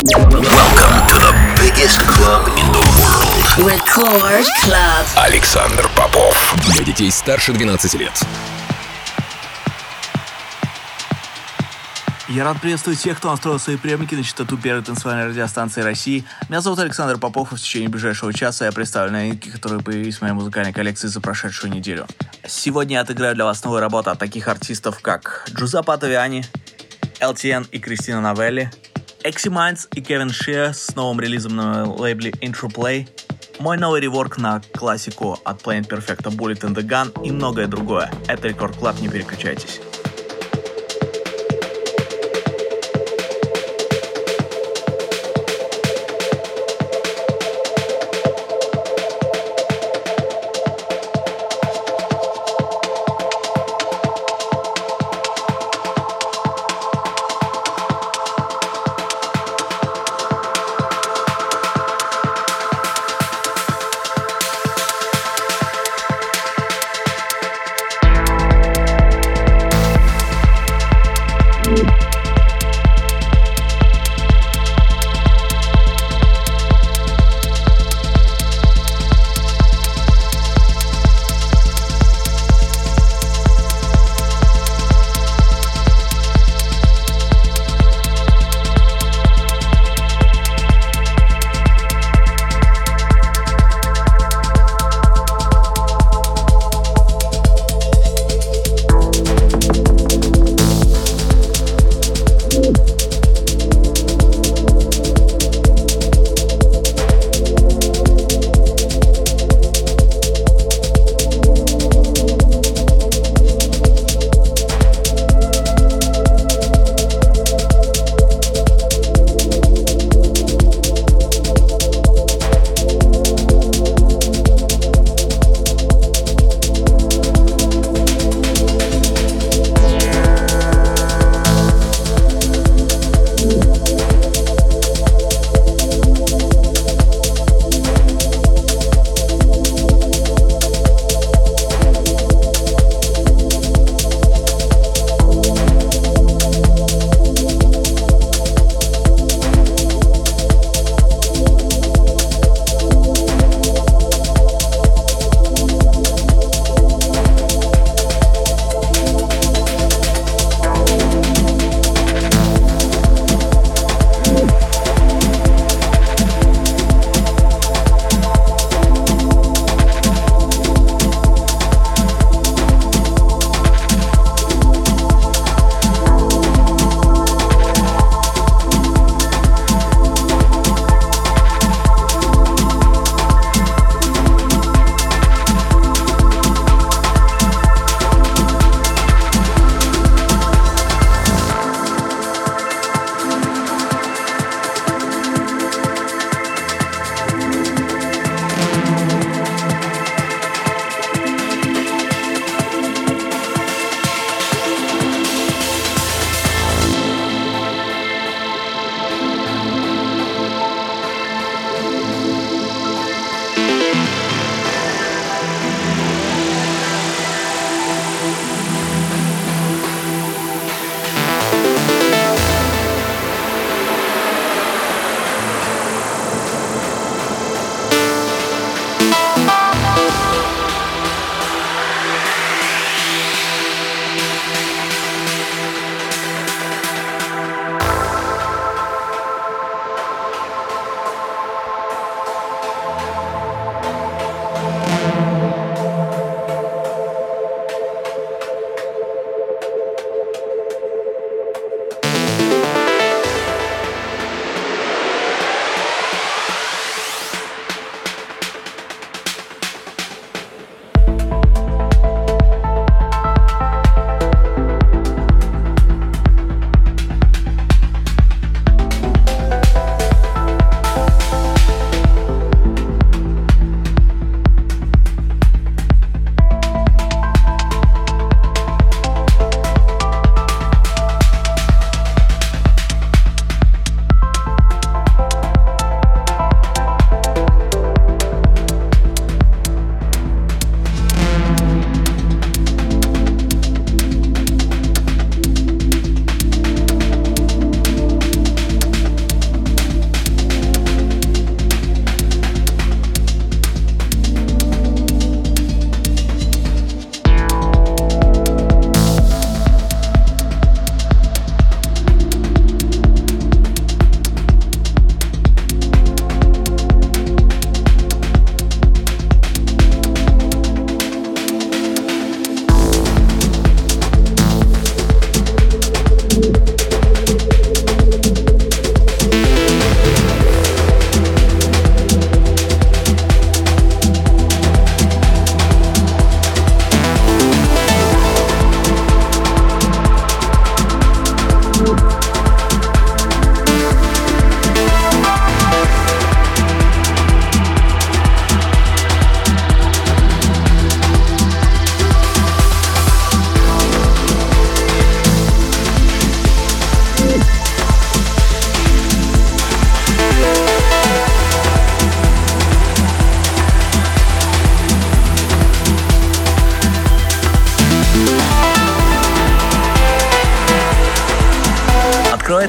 Welcome to the biggest club in the world. Record Club. Александр Попов. Для детей старше 12 лет. Я рад приветствовать всех, кто настроил свои приемники на частоту первой танцевальной радиостанции России. Меня зовут Александр Попов, и в течение ближайшего часа я представлю новинки, которые появились в моей музыкальной коллекции за прошедшую неделю. Сегодня я отыграю для вас новые работы от таких артистов, как Джузеппе Оттавиани, LTN и Кристина Новелли, Экси Майндс и Кевин Шиа с новым релизом на лейбле Intro Play, мой новый реворк на классику от Planet Perfecto Bullet in the Gun и многое другое. Это Record Club, не переключайтесь.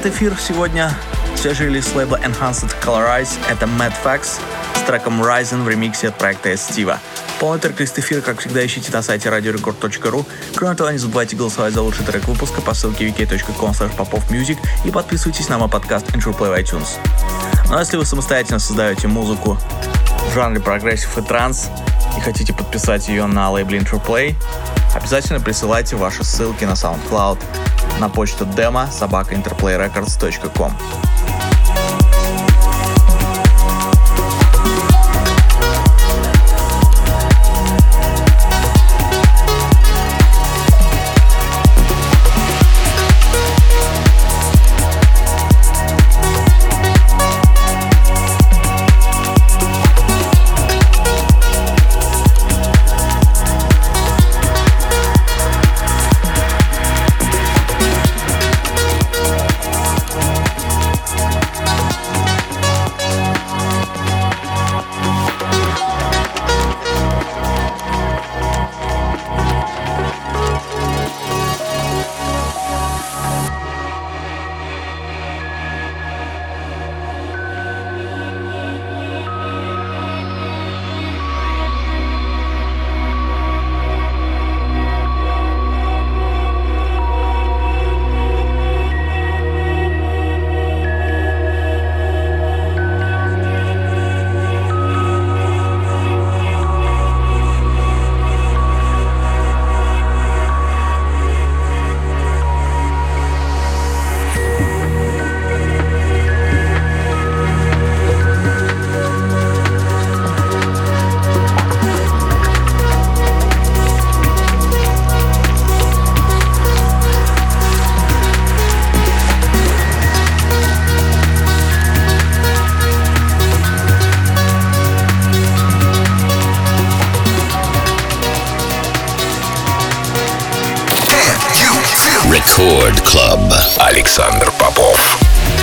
Завершает эфир сегодня свежий релиз с лейбла Enhanced Colorize. Это Mad Fax с треком Rising в ремиксе от проекта Estiva. Полный трек-лист эфира, как всегда, ищите на сайте radiorecord.ru. Кроме того, не забывайте голосовать за лучший трек выпуска по ссылке vk.com/popofmusic и подписывайтесь на мой подкаст Intro Play в iTunes. Ну а если вы самостоятельно создаете музыку в жанре прогрессив и транс и хотите подписать ее на лейбле Intro Play, обязательно присылайте ваши ссылки на SoundCloud на почту demo@interplayrecords.com. Record Club. Александр Попов.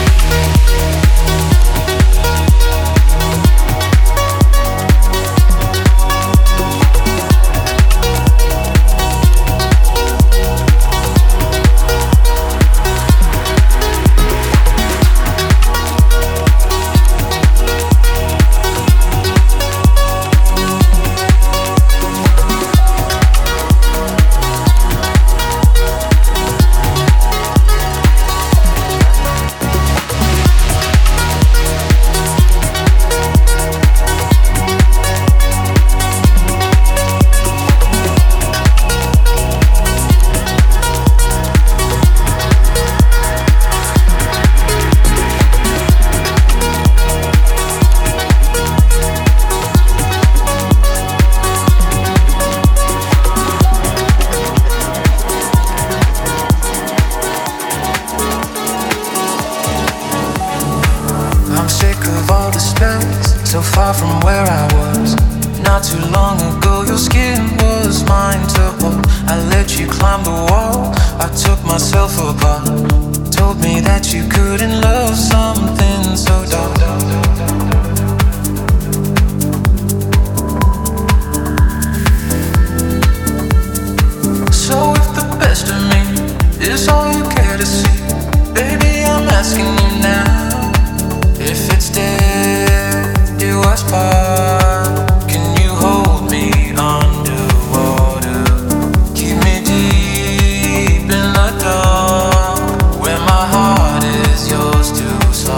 So far from where I was. Not too long ago your skin was mine to hold. I let you climb the wall, I took myself apart. Told me that you couldn't love something so dark. So if the best of me is all you care to see, baby, I'm asking you now, if it's dead, do us part. Can you hold me underwater? Keep me deep in the dark, where my heart is yours to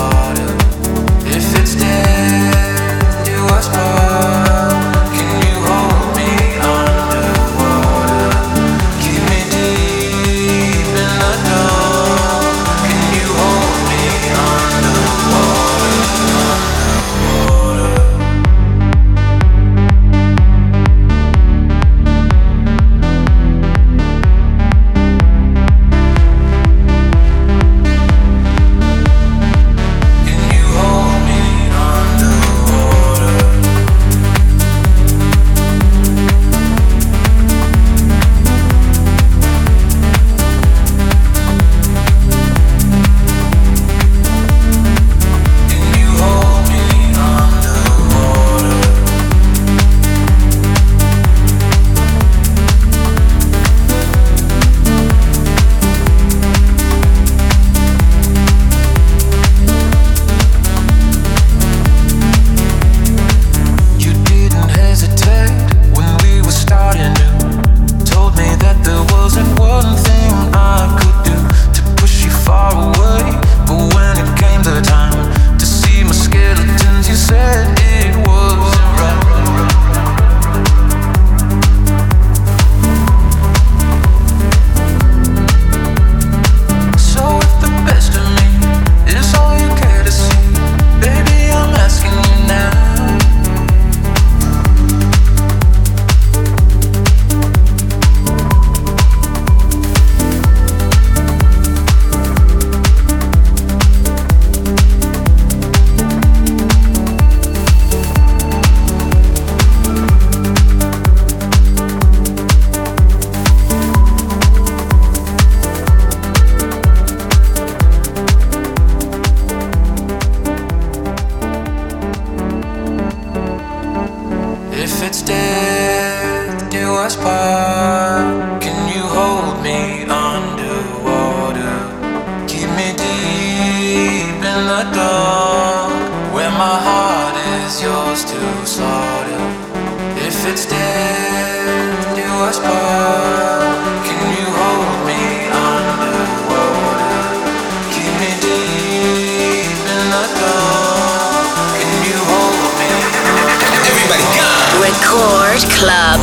the dark, where my heart is yours to slaughter. If it's dead, do us part. Can you hold me underwater? Keep me deep in the dark. Can you hold me? Everybody go! Record Club.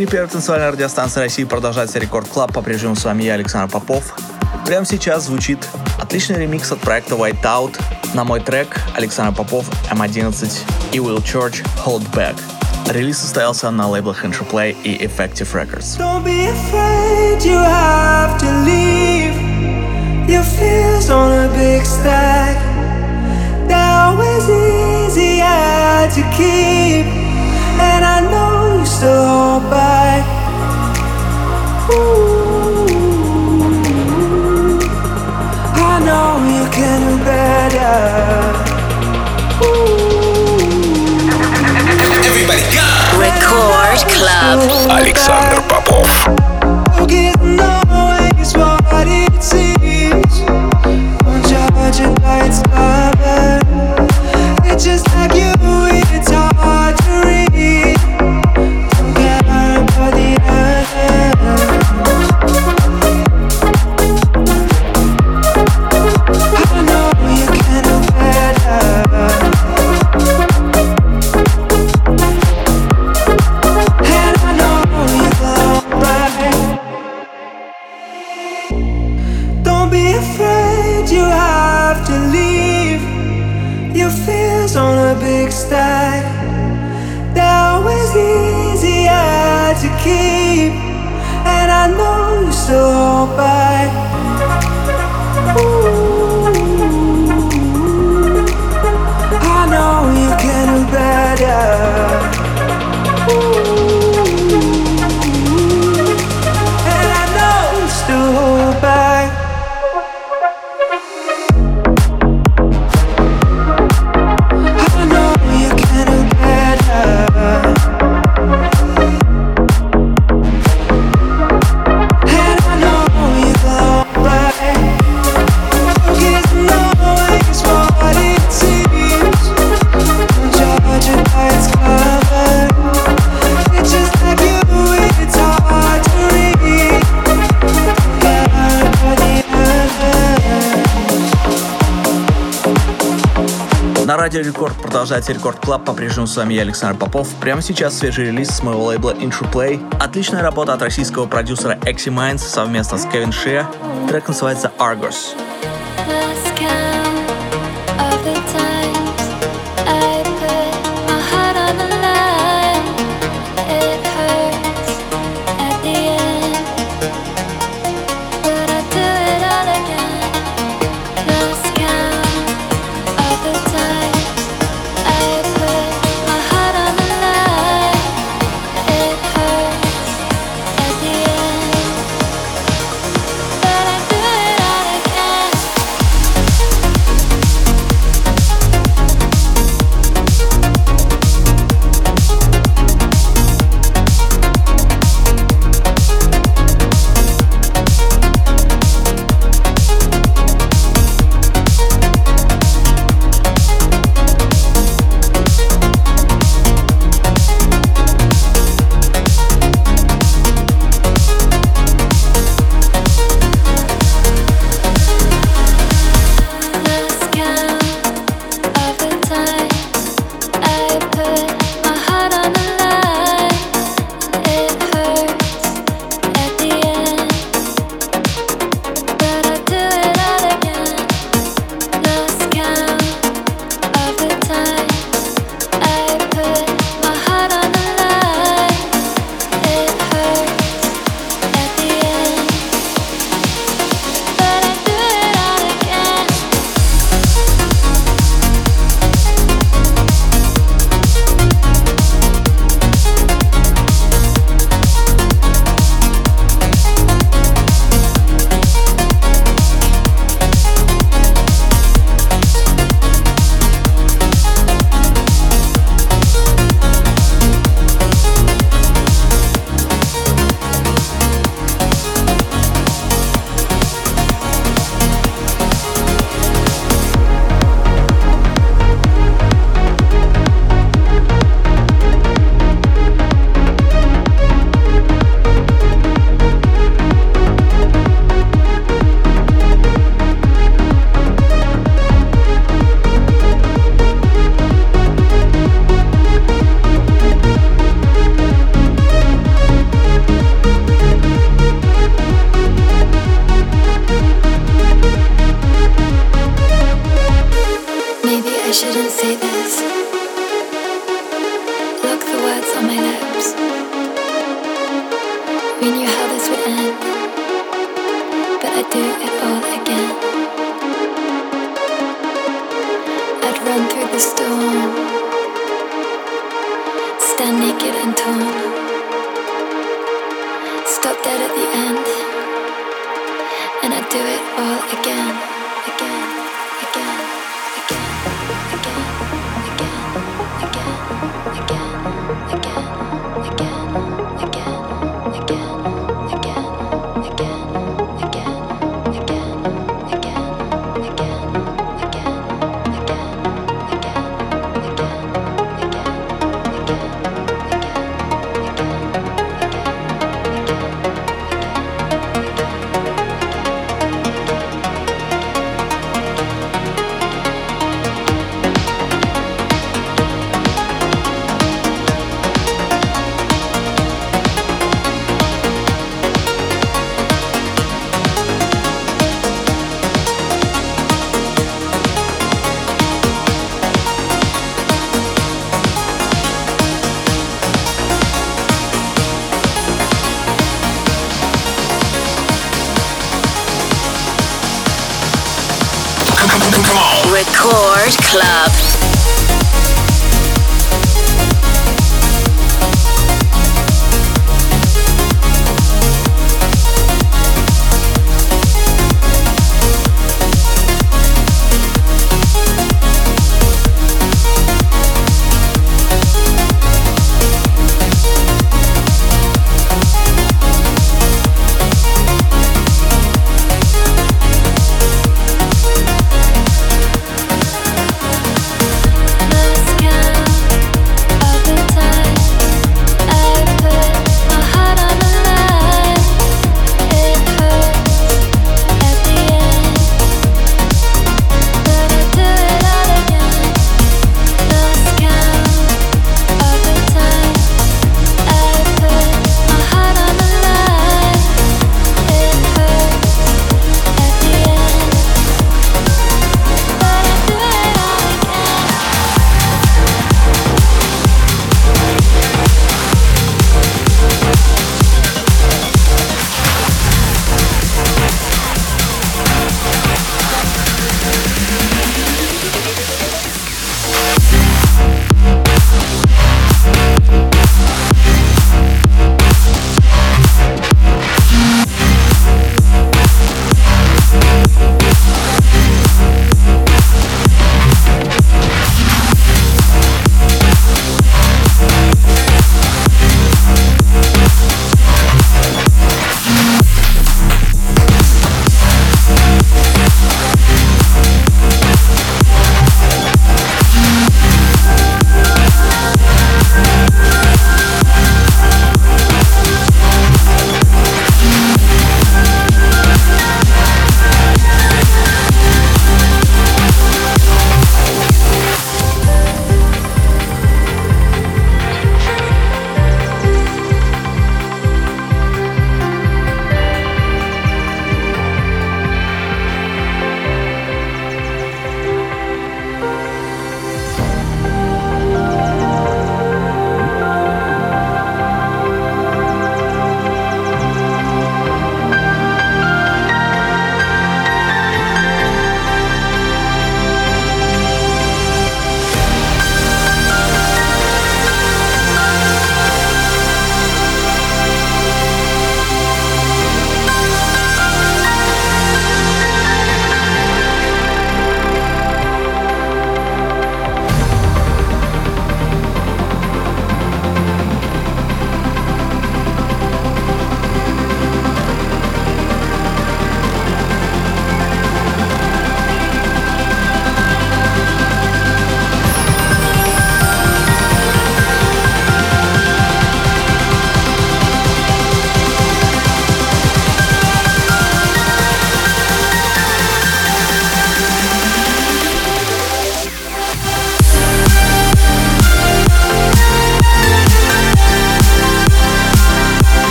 эфире первой танцевальной радиостанции России продолжается Рекорд Клаб. По-прежнему с вами я, Александр Попов. Прямо сейчас звучит отличный ремикс от проекта Whiteout на мой трек Александр Попов, M11 и Will Church Hold Back. Релиз состоялся на лейблах Interplay и Effective Records. Don't be afraid, you have to leave your fears on a big stack. They're always easier to keep, and I know you still hold back. Ooh, I know you can do better. Everybody go! Record Club. Александр Попов. Getting always what it seems. Don't judge it by its cover. It's just like you, it's hard to read. Don't care about the others. I know you can do better. And I know you go right. Don't be afraid, you have to leave your fears on a big stack. They're always easier to keep, and I know you still hold back. Ooh, I know you can do better. Ooh, and I know you still hold back. I know you can do better. And I know you go right. Forgetting always what it seems. Don't judge it by its cover. It's just like you, it's hard to read. Care about the others. На радио Рекорд продолжается Рекорд Клаб. По-прежнему с вами я, Александр Попов. Прямо сейчас свежий релиз с моего лейбла Interplay. Отличная работа от российского продюсера Exy Minds совместно с Kevin Shea. Трек называется Argos. Lost count of the times I put my heart on the line. It hurts at the end, but I do it all again. Lost count of the times I put my heart on the line. It hurts at the end, but I do it all again. We knew how this would end, but I'd do it all again. I'd run through the storm, stand naked and torn, stop dead at the end, and I'd do it all again, again, again, again, again, again, again, again, again. Record Club.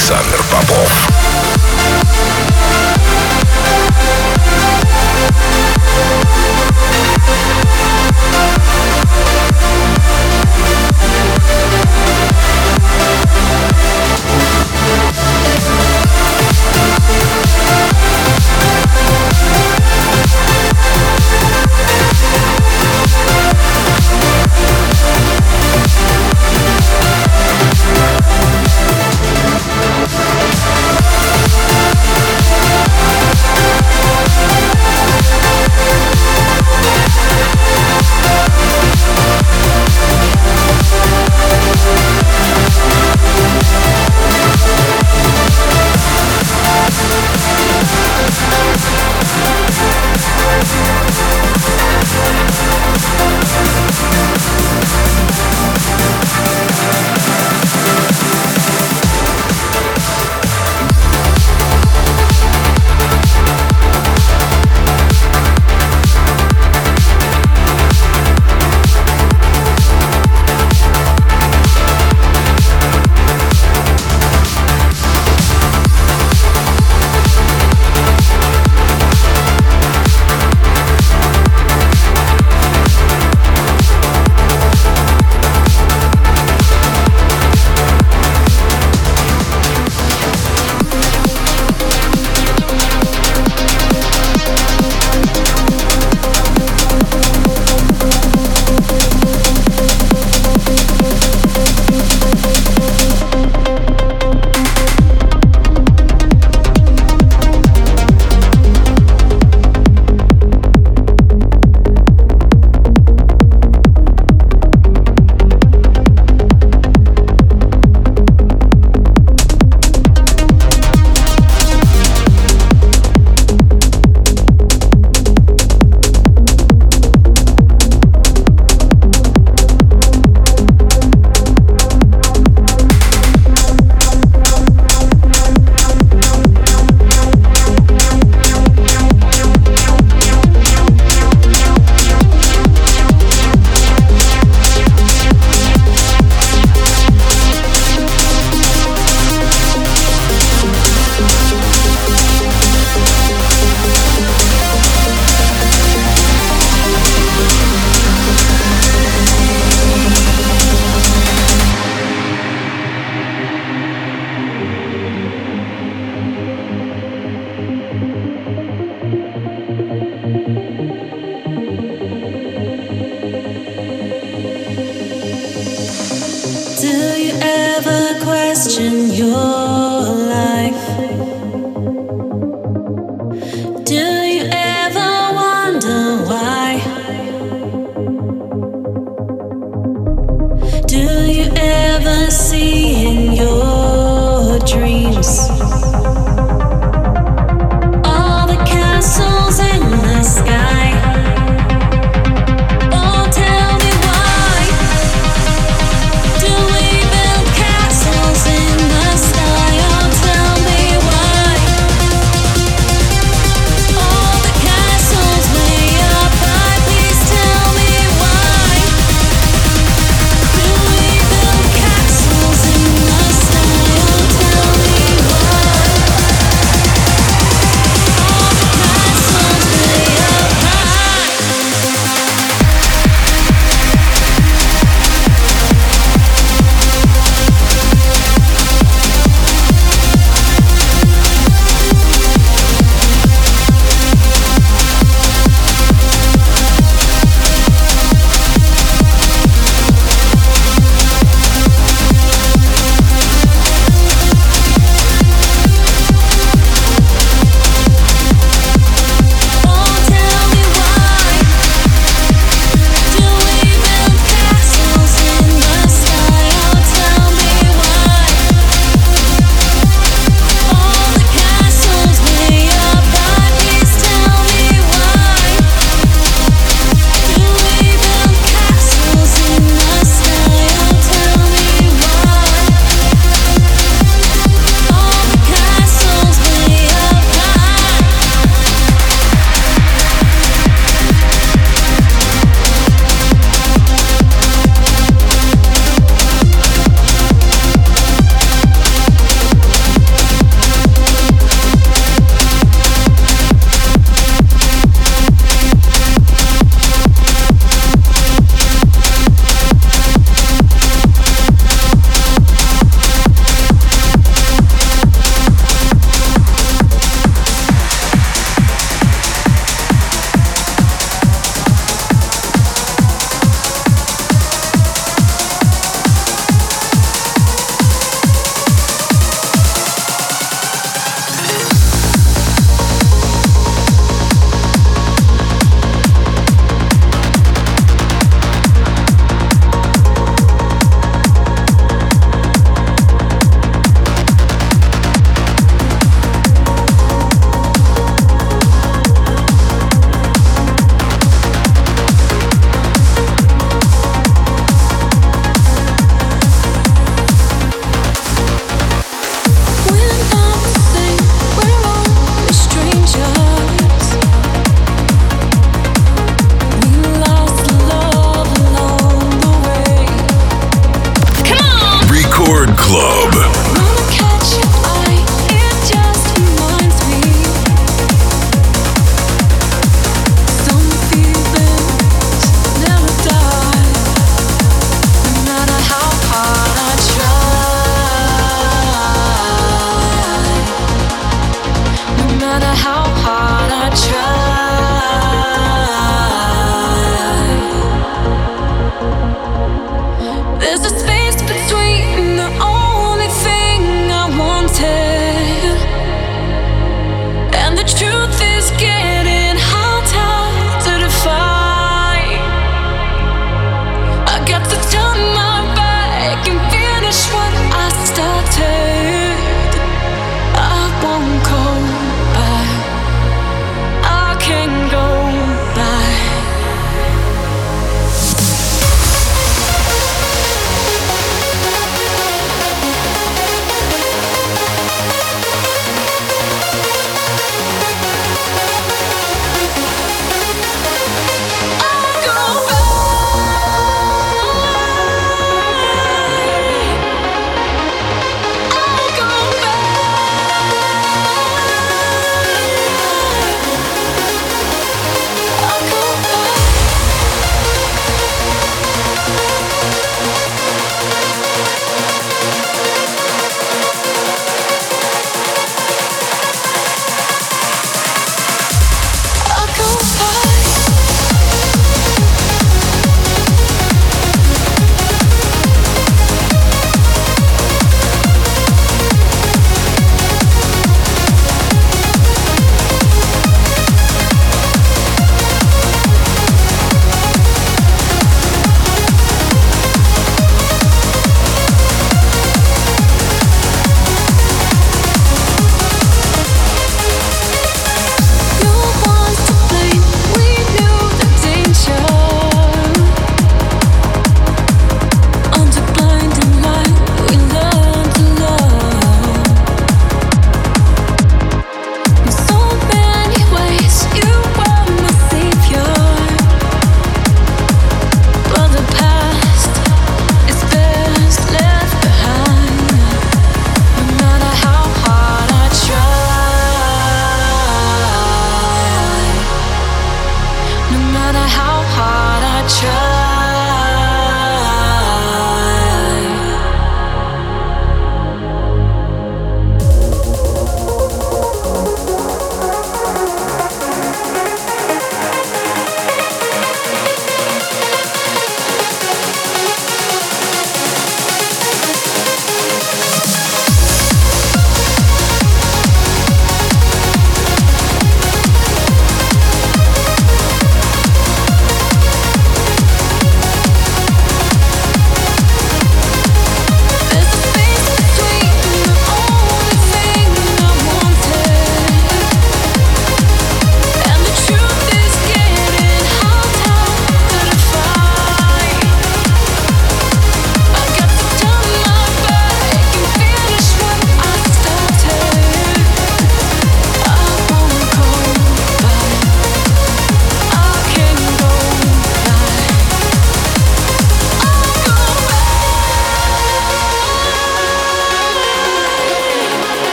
Александр Попов.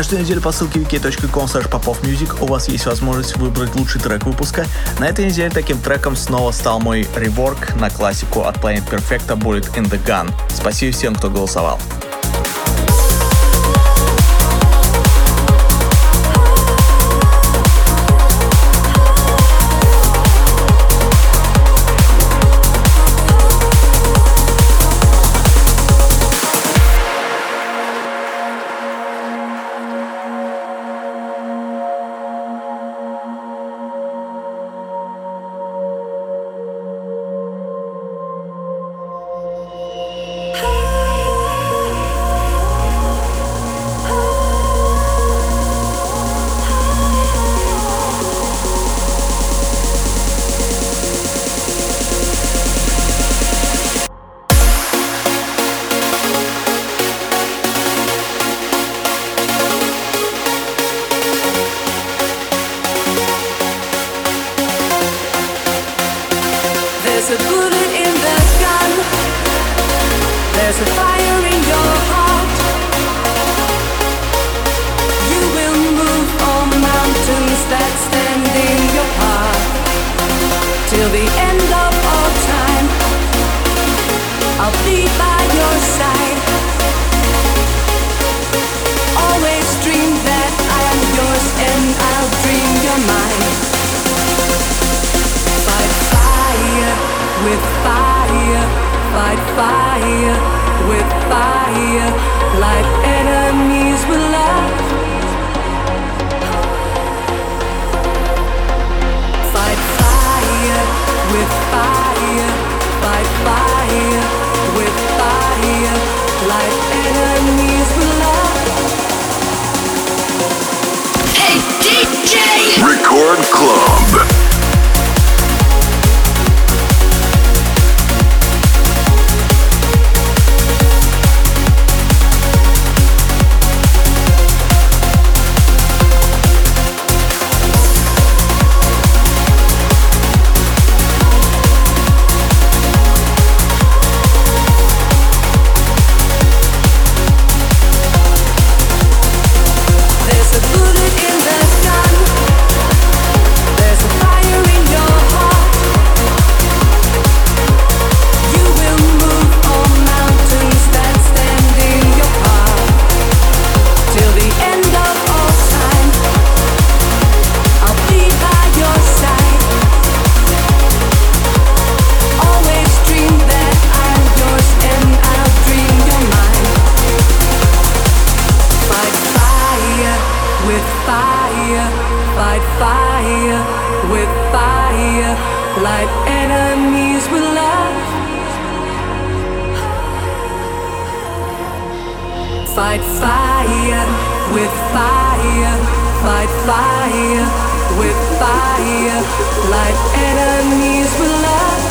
Каждую неделю по ссылке wiki.com/popovmusic у вас есть возможность выбрать лучший трек выпуска. На этой неделе таким треком снова стал мой реворк на классику от Planet Perfecta Bullet in the Gun. Спасибо всем, кто голосовал. There's a bullet in the gun. There's a fire in your heart. You will move all mountains that stand in your path. Till the end of all time, I'll be by your side. Always dream that I am yours and I'll dream your mind. Fight fire with fire, fight fire with fire, like enemies with love. Fight fire with fire, fight fire with fire, like enemies with love. Hey DJ! Record Club. There's a bullet in the gun. There's a fire in your heart. You will move all mountains that stand in your path. Till the end of all time, I'll be by your side. Always dream that I'm yours and I'll dream your mind. Fight fire with fire, fight fire with fire, like enemies with love. Fight fire with fire, fight fire with fire, like enemies with love.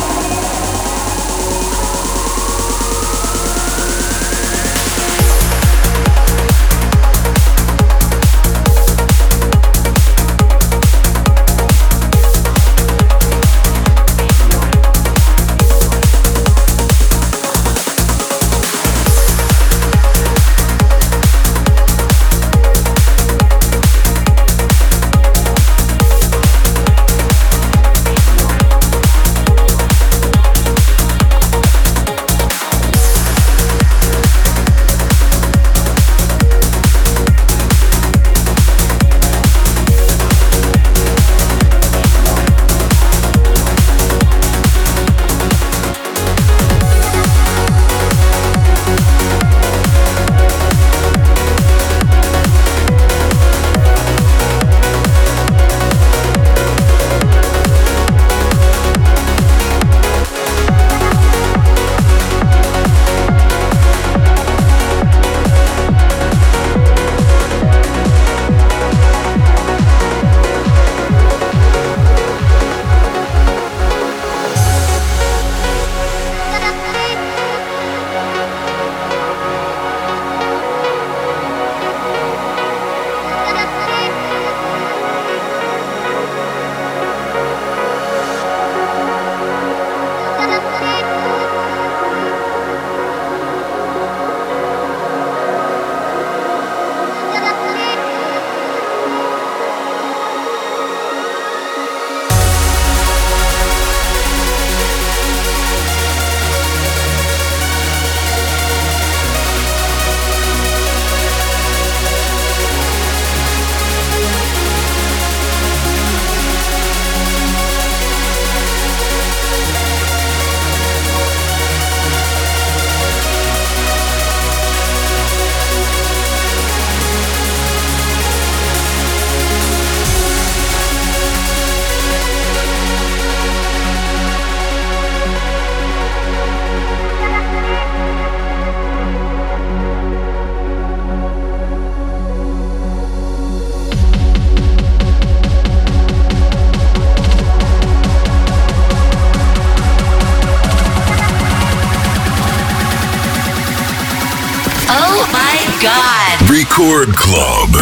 Oh my god. Record Club.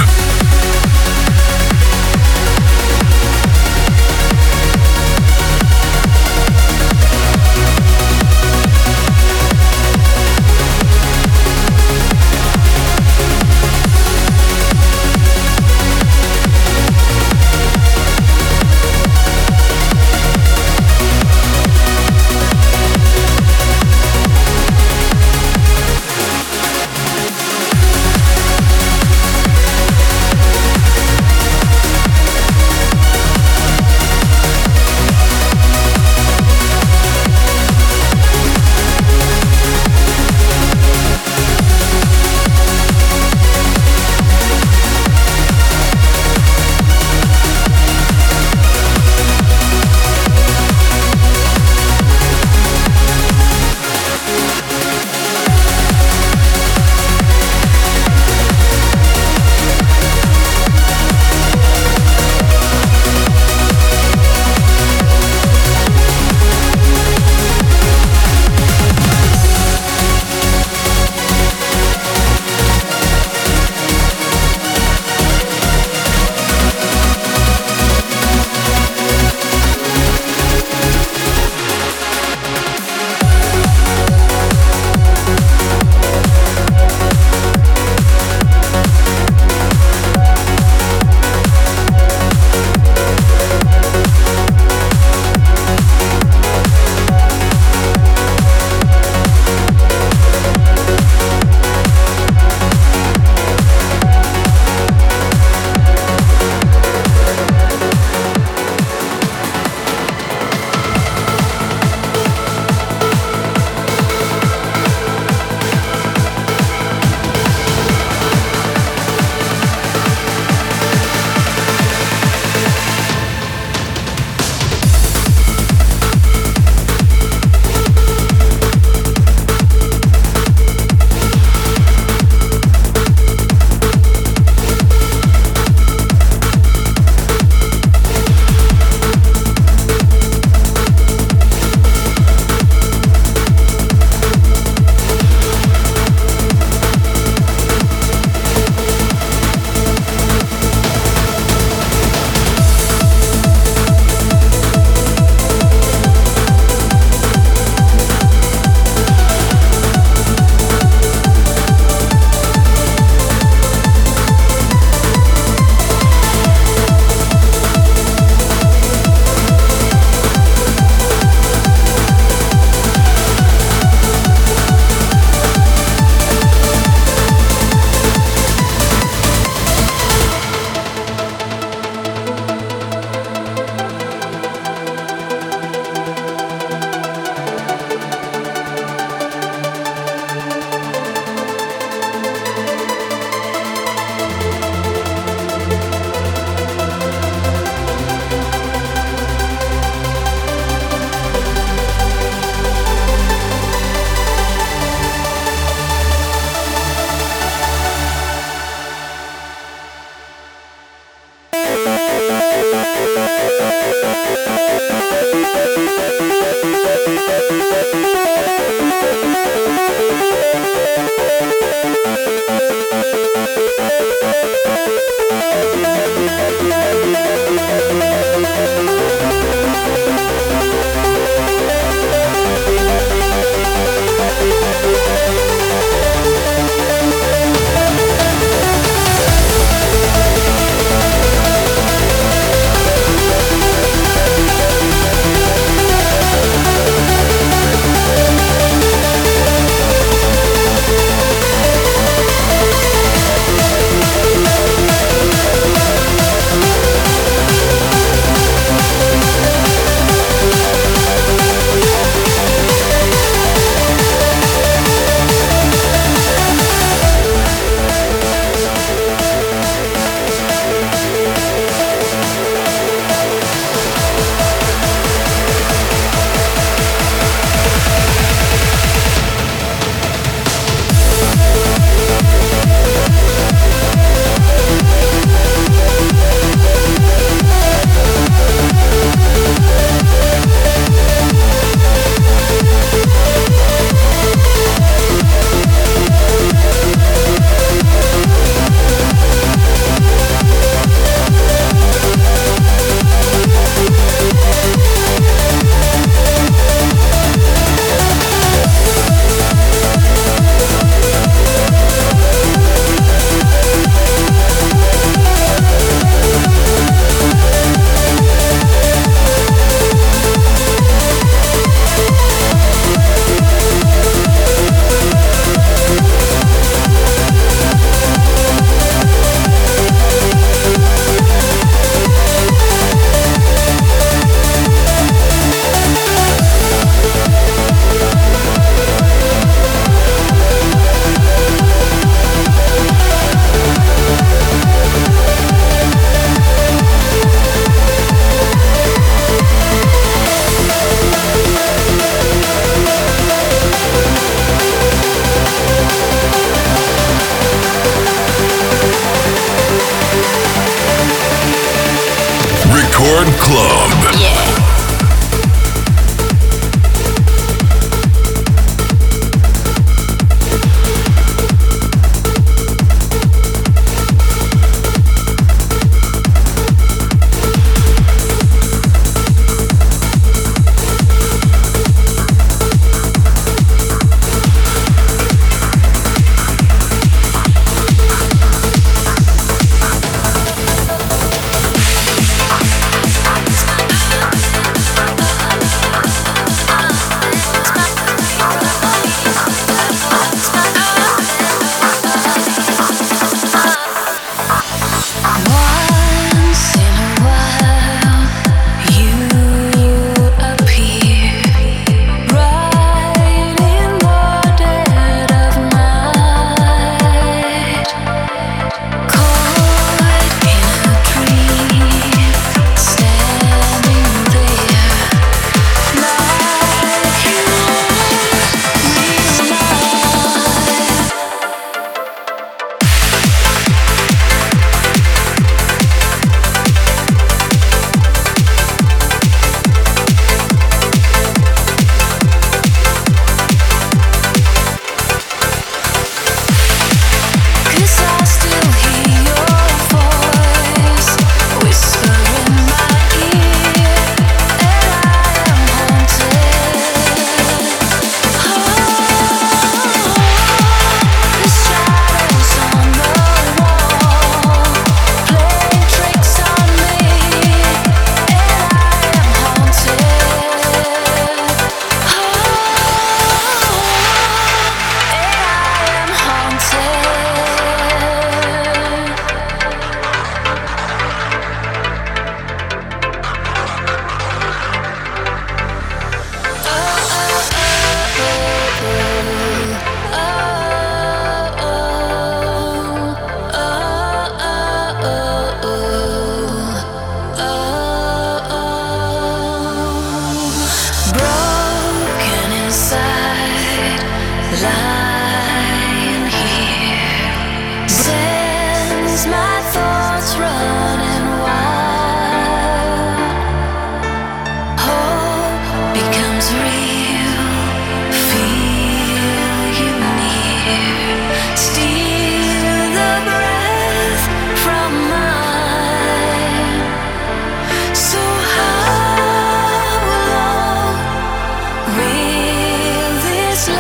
Record Club. Yeah.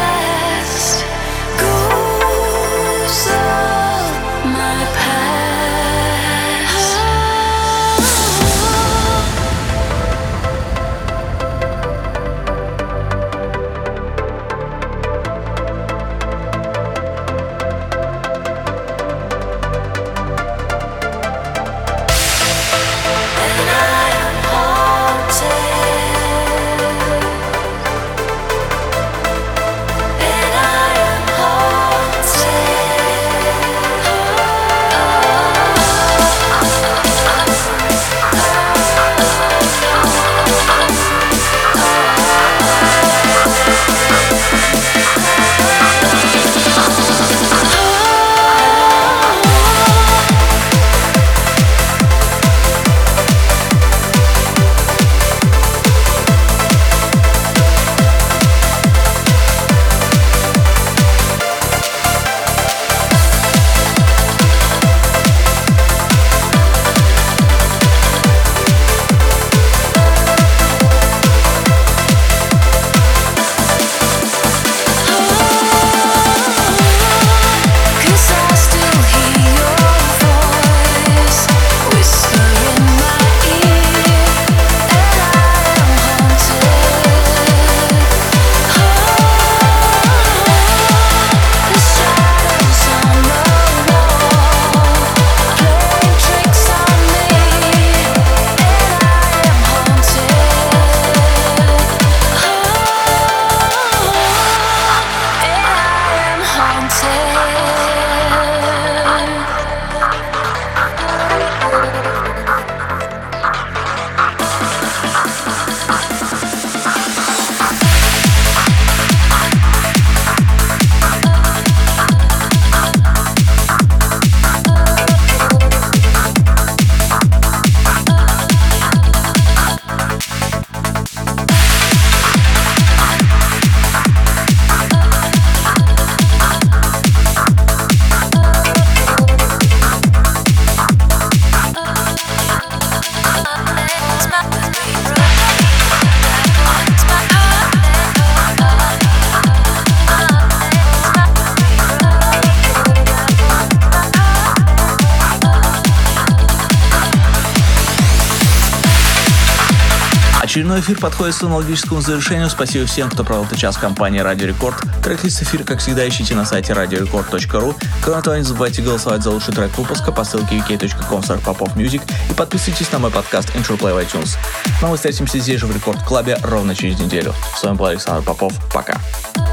My path Очередной эфир подходит к аналогическому завершению. Спасибо всем, кто провел этот час в компании Радио Рекорд. Трек-лист эфира, как всегда, ищите на сайте radiorecord.ru. Кроме того, не забывайте голосовать за лучший трек выпуска по ссылке vk.com/popofmusic и подписывайтесь на мой подкаст Intro Play в iTunes. Но мы встретимся здесь же в Рекорд Клабе ровно через неделю. С вами был Александр Попов. Пока.